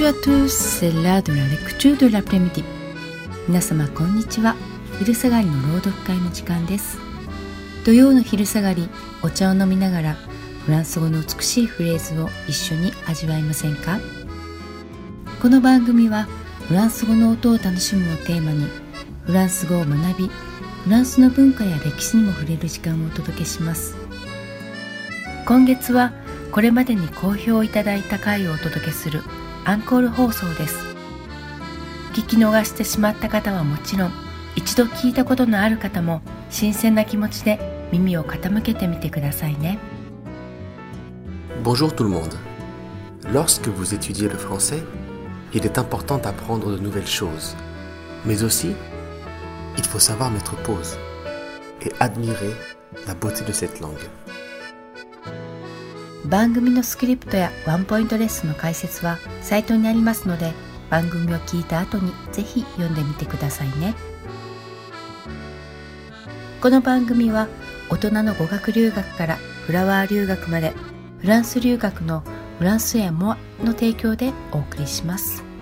Bonjour à tous, c'est l'heure de la lecture de l'après-midi. 皆様こんにちは。昼下がりの朗読会の時間です。土曜の昼下がり、お茶を飲みながらフランス語の美しいフレーズを一緒に味わいませんか？この番組はフランス語の音を楽しむをテーマに、フランス語を学び、フランスの文化や歴史にも触れる時間をお届けします。今月はこれまでに好評いただいた回をお届けするアンコール放送です。聞き逃してしまった方はもちろん、一度聞いたことのある方も新鮮な気持ちで耳を傾けてみてくださいね。 Bonjour tout le monde. Lorsque vous étudiez le français, il est important d'apprendre de nouvelles choses. Mais aussi, il faut savoir mettre pause et admirer la beauté de cette langue. 番組のスクリプトやワンポイントレッスンの解説はサイトにありますので、番組を聞いた後にぜひ読んでみてくださいね。この番組は大人の語学留学からフラワー留学まで、フランス留学のフランスやモアの提供でお送りします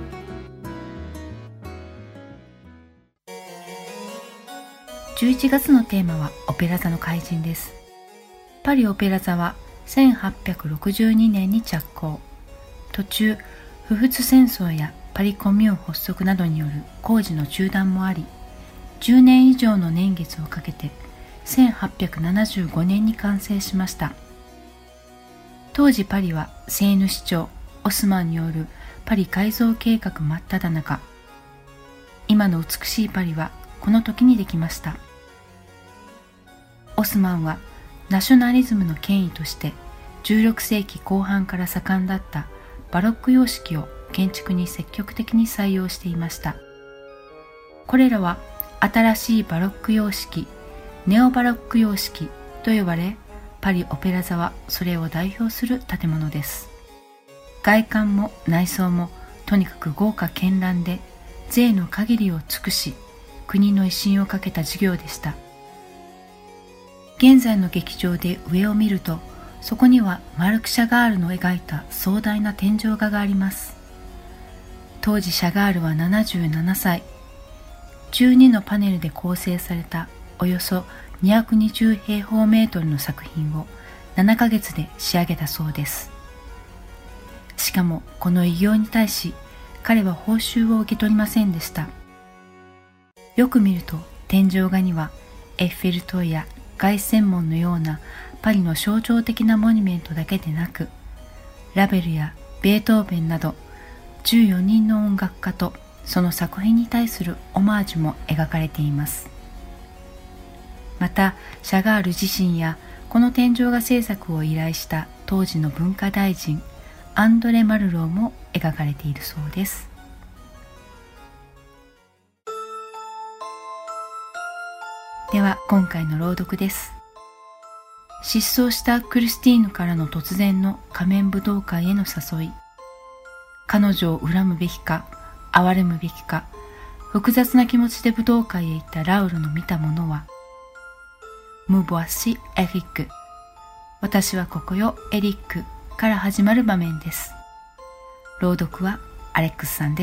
。11月のテーマはオペラ座の怪人です。パリオペラ座は1862年に着工。途中、不仏戦争やパリコミューン発足などによる工事の中断もあり、10年以上の年月をかけて1875年に完成しました。当時パリはセーヌ市長オスマンによるパリ改造計画真っ只中。今の美しいパリはこの時にできました。オスマンはナショナリズムの権威として16世紀後半から盛んだったバロック様式を建築に積極的に採用していました。これらは新しいバロック様式、ネオバロック様式と呼ばれ、パリオペラ座はそれを代表する建物です。外観も内装もとにかく豪華絢爛で、贅の限りを尽くし、国の威信をかけた事業でした。現在の劇場で上を見ると、そこにはマルク・シャガールの描いた壮大な天井画があります。当時シャガールは77歳。12のパネルで構成されたおよそ220平方メートルの作品を7ヶ月で仕上げたそうです。しかもこの偉業に対し彼は報酬を受け取りませんでした。よく見ると天井画にはエッフェル塔や凱旋門のようなパリの象徴的なモニュメントだけでなく、ラベルやベートーベンなど14人の音楽家とその作品に対するオマージュも描かれています。またシャガール自身やこの天井画制作を依頼した当時の文化大臣アンドレ・マルローも描かれているそうです。では今回の朗読です。失踪したクリスティーヌからの突然の仮面武道会への誘い。彼女を恨むべきか憐れむべきか、複雑な気持ちで武道会へ行ったラウルの見たものは、Me voici Eric、私はここよエリックから始まる場面です。朗読はアレックスさんです。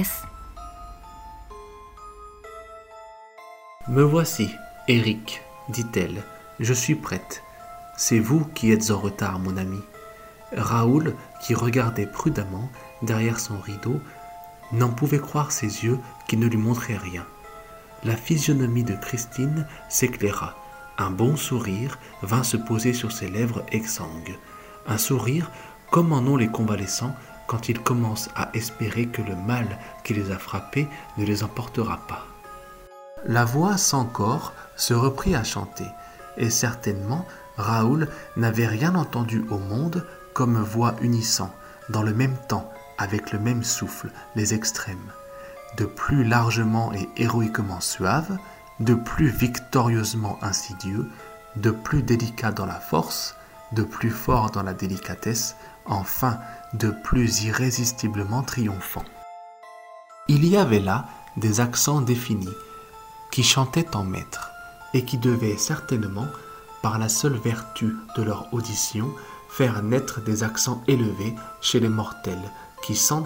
Me voici, Eric, dit-elle, je suis prête. C'est vous qui êtes en retard, mon ami. Raoul, qui regardait prudemment derrière son rideau, n'en pouvait croire ses yeux qui ne lui montraient rien. La physionomie de Christine s'éclaira. Un bon sourire vint se poser sur ses lèvres exsangues. Un sourire comme en ont les convalescents quand ils commencent à espérer que le mal qui les a frappés ne les emportera pas. La voix sans corps se reprit à chanter, et certainement Raoul n'avait rien entendu au monde comme voix unissant, dans le même temps, avec le même souffle, les extrêmes, de plus largement et héroïquement suave, de plus victorieusement insidieux, de plus délicat dans la force, de plus fort dans la délicatesse, enfin de plus irrésistiblement triomphant. Il y avait là des accents définis, qui chantaient en maître, et qui devaient certainement, par la seule vertu de leur audition, faire naître des accents élevés chez les mortels, qui sentent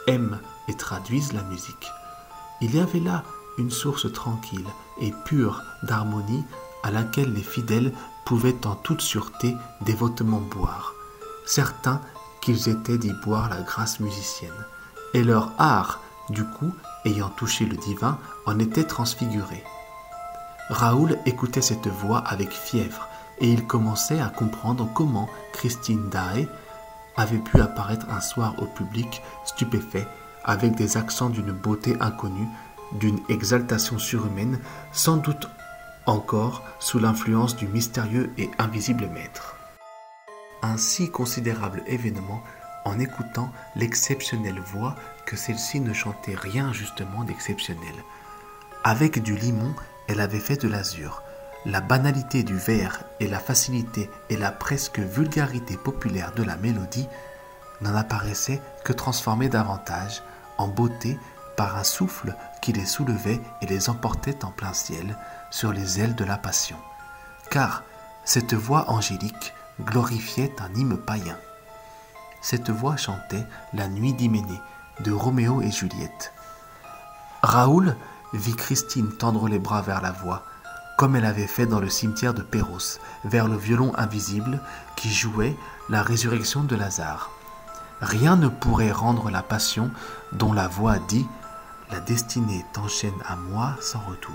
aiment et traduisent la musique. Il y avait là une source tranquille et pure d'harmonie à laquelle les fidèles pouvaient en toute sûreté dévotement boire, certains qu'ils étaient d'y boire la grâce musicienne, et leur art, du coup, ayant touché le divin, en était transfiguré. Raoul écoutait cette voix avec fièvre, et il commençait à comprendre comment Christine Daae avait pu apparaître un soir au public stupéfait, avec des accents d'une beauté inconnue, d'une exaltation surhumaine, sans doute encore sous l'influence du mystérieux et invisible maître. Un si considérable événement en écoutant l'exceptionnelle voix que celle-ci ne chantait rien justement d'exceptionnel. Avec du limon, elle avait fait de l'azur. La banalité du vers et la facilité et la presque vulgarité populaire de la mélodie n'en apparaissaient que transformées davantage en beauté par un souffle qui les soulevait et les emportait en plein ciel sur les ailes de la passion. Car cette voix angélique glorifiait un hymne païen. Cette voix chantait la nuit d'Hyménée de Roméo et Juliette. Raoul vit Christine tendre les bras vers la voix, comme elle avait fait dans le cimetière de Perros, vers le violon invisible qui jouait la résurrection de Lazare. Rien ne pourrait rendre la passion dont la voix dit « La destinée t'enchaîne à moi sans retour ».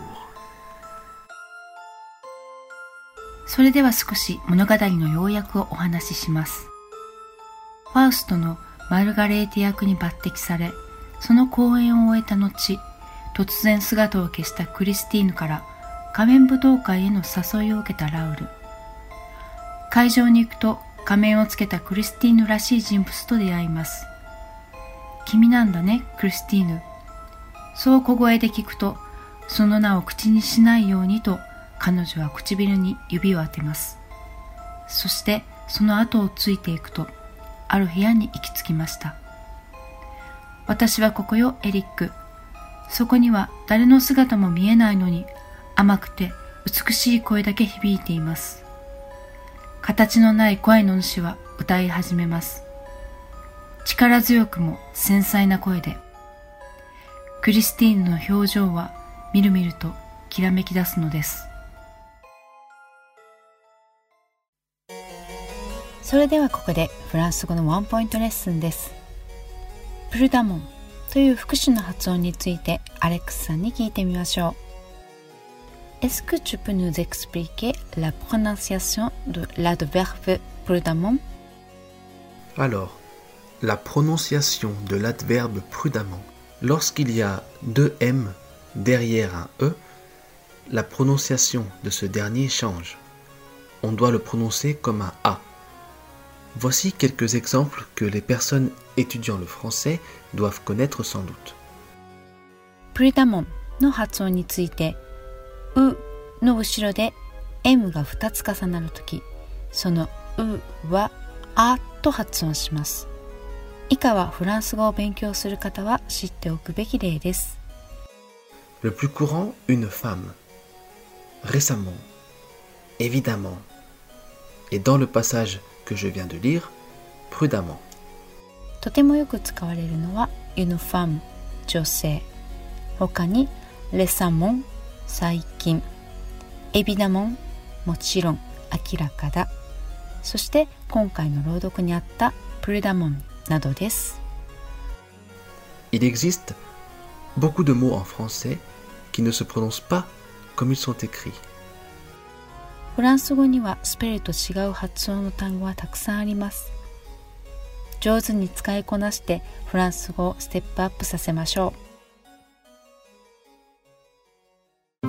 それでは少し物語の要約をお話しします。ファウストのマルガレーテ役に抜擢され、その公演を終えた後、突然姿を消したクリスティーヌから仮面舞踏会への誘いを受けたラウル。会場に行くと仮面をつけたクリスティーヌらしい人物と出会います。君なんだね、クリスティーヌ。そう小声で聞くと、その名を口にしないようにと彼女は唇に指を当てます。そしてその後をついていくと、ある部屋に行き着きました。私はここよ、エリック。そこには誰の姿も見えないのに、甘くて美しい声だけ響いています。形のない声の主は歌い始めます。力強くも繊細な声で。クリスティーヌの表情はみるみるときらめき出すのです。それではここでフランス語のワンポイントレッスンです。プルダモンという副詞の発音についてアレックスさんに聞いてみましょう。Est-ce que tu peux nous expliquer la prononciation de l'adverbe prudemment? Alors, la prononciation de l'adverbe prudemment, lorsqu'il y a deux M derrière un E, la prononciation de ce dernier change. On doit le prononcer comme un A. Voici quelques exemples que les personnes étudiant le français doivent connaître sans doute. prudemment の発音について、うの後ろで M が2つ重なるとき、そのうはあと発音します。以下はフランス語を勉強する方は知っておくべき例です。 Le plus courant, une femme. Récemment. Évidemment. Et dans le passage que je viens de lire, prudemment. とてもよく使われるのは une femme 女性、他に récemment 最近、évidemment もちろん明らかだ、そして今回の朗読にあった prudemment などです。 Il existe beaucoup de mots en français qui ne se prononcent pas comme ils sont écrits. フランス語にはスペルと違う発音の単語はたくさんあります。上手に使いこなしてフランス語をステップアップさせましょう。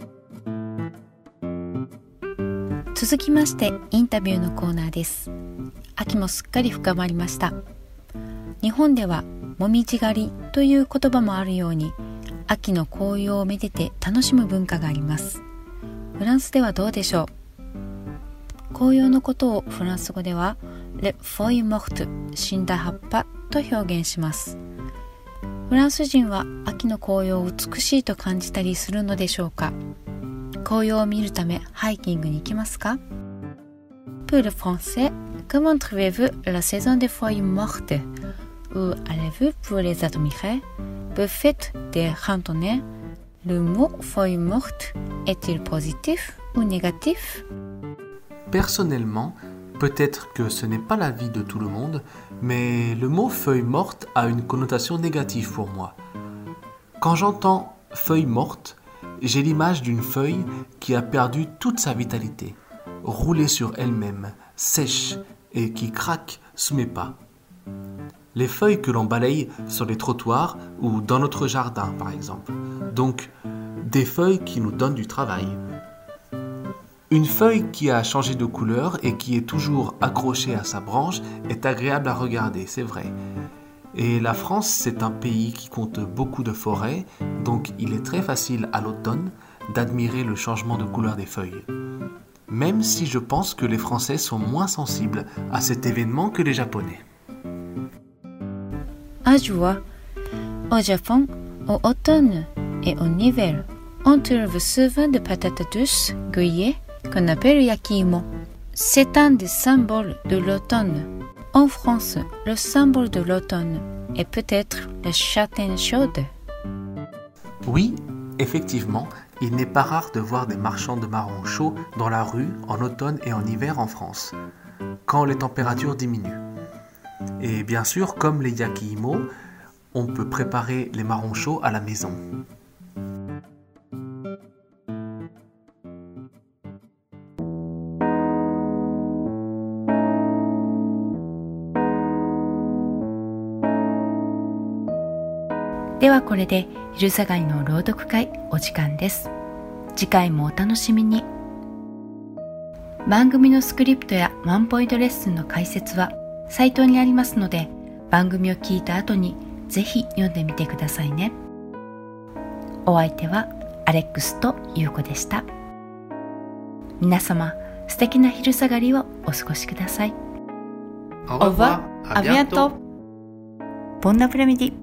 続きましてインタビューのコーナーです。秋もすっかり深まりました。日本ではもみじ狩りという言葉もあるように、秋の紅葉をめでて楽しむ文化があります。フランスではどうでしょう。紅葉のことをフランス語ではLes feuilles mortes 死んだ葉っぱと表現します。フランス人は秋の紅葉を美しいと感じたりするのでしょうか。紅葉を見るためハイキングに行きますか。Pour le français, comment trouvez-vous la saison des feuilles mortes? où allez-vous pour les admirer? Vous faites des randonnées. Le mot feuille morte est-il positif ou négatif? Personnellement, peut-être que ce n'est pas l'avis de tout le monde, mais le mot feuille morte a une connotation négative pour moi. Quand j'entends feuille morte, j'ai l'image d'une feuille qui a perdu toute sa vitalité, roulée sur elle-même, sèche et qui craque sous mes pas. Les feuilles que l'on balaye sur les trottoirs ou dans notre jardin, par exemple. Donc, des feuilles qui nous donnent du travail. Une feuille qui a changé de couleur et qui est toujours accrochée à sa branche est agréable à regarder, c'est vrai. Et la France, c'est un pays qui compte beaucoup de forêts, donc il est très facile à l'automne d'admirer le changement de couleur des feuilles. Même si je pense que les Français sont moins sensibles à cet événement que les Japonais. À joie, au Japon, au automne et en hiver, on trouve souvent des patates douces grillées qu'on appelle yakimo. C'est un des symboles de l'automne. En France, le symbole de l'automne est peut-être la châtaigne chaude. Oui, effectivement, il n'est pas rare de voir des marchands de marrons chauds dans la rue en automne et en hiver en France, quand les températures diminuent. Et bien sûr, comme les yakimo, on peut préparer les marrons chauds à la maison. ではこれで昼下がりの朗読会お時間です。次回もお楽しみに。番組のスクリプトやワンポイントレッスンの解説はサイトにありますので、番組を聞いた後にぜひ読んでみてくださいね。お相手はアレックスとユウコでした。皆様、素敵な昼下がりをお過ごしください。 Au revoir, à bientôt. Bon après-midi。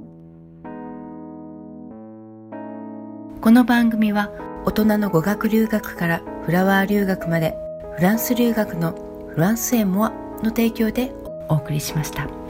この番組は大人の語学留学からフラワー留学までフランス留学のフランスエモアの提供でお送りしました。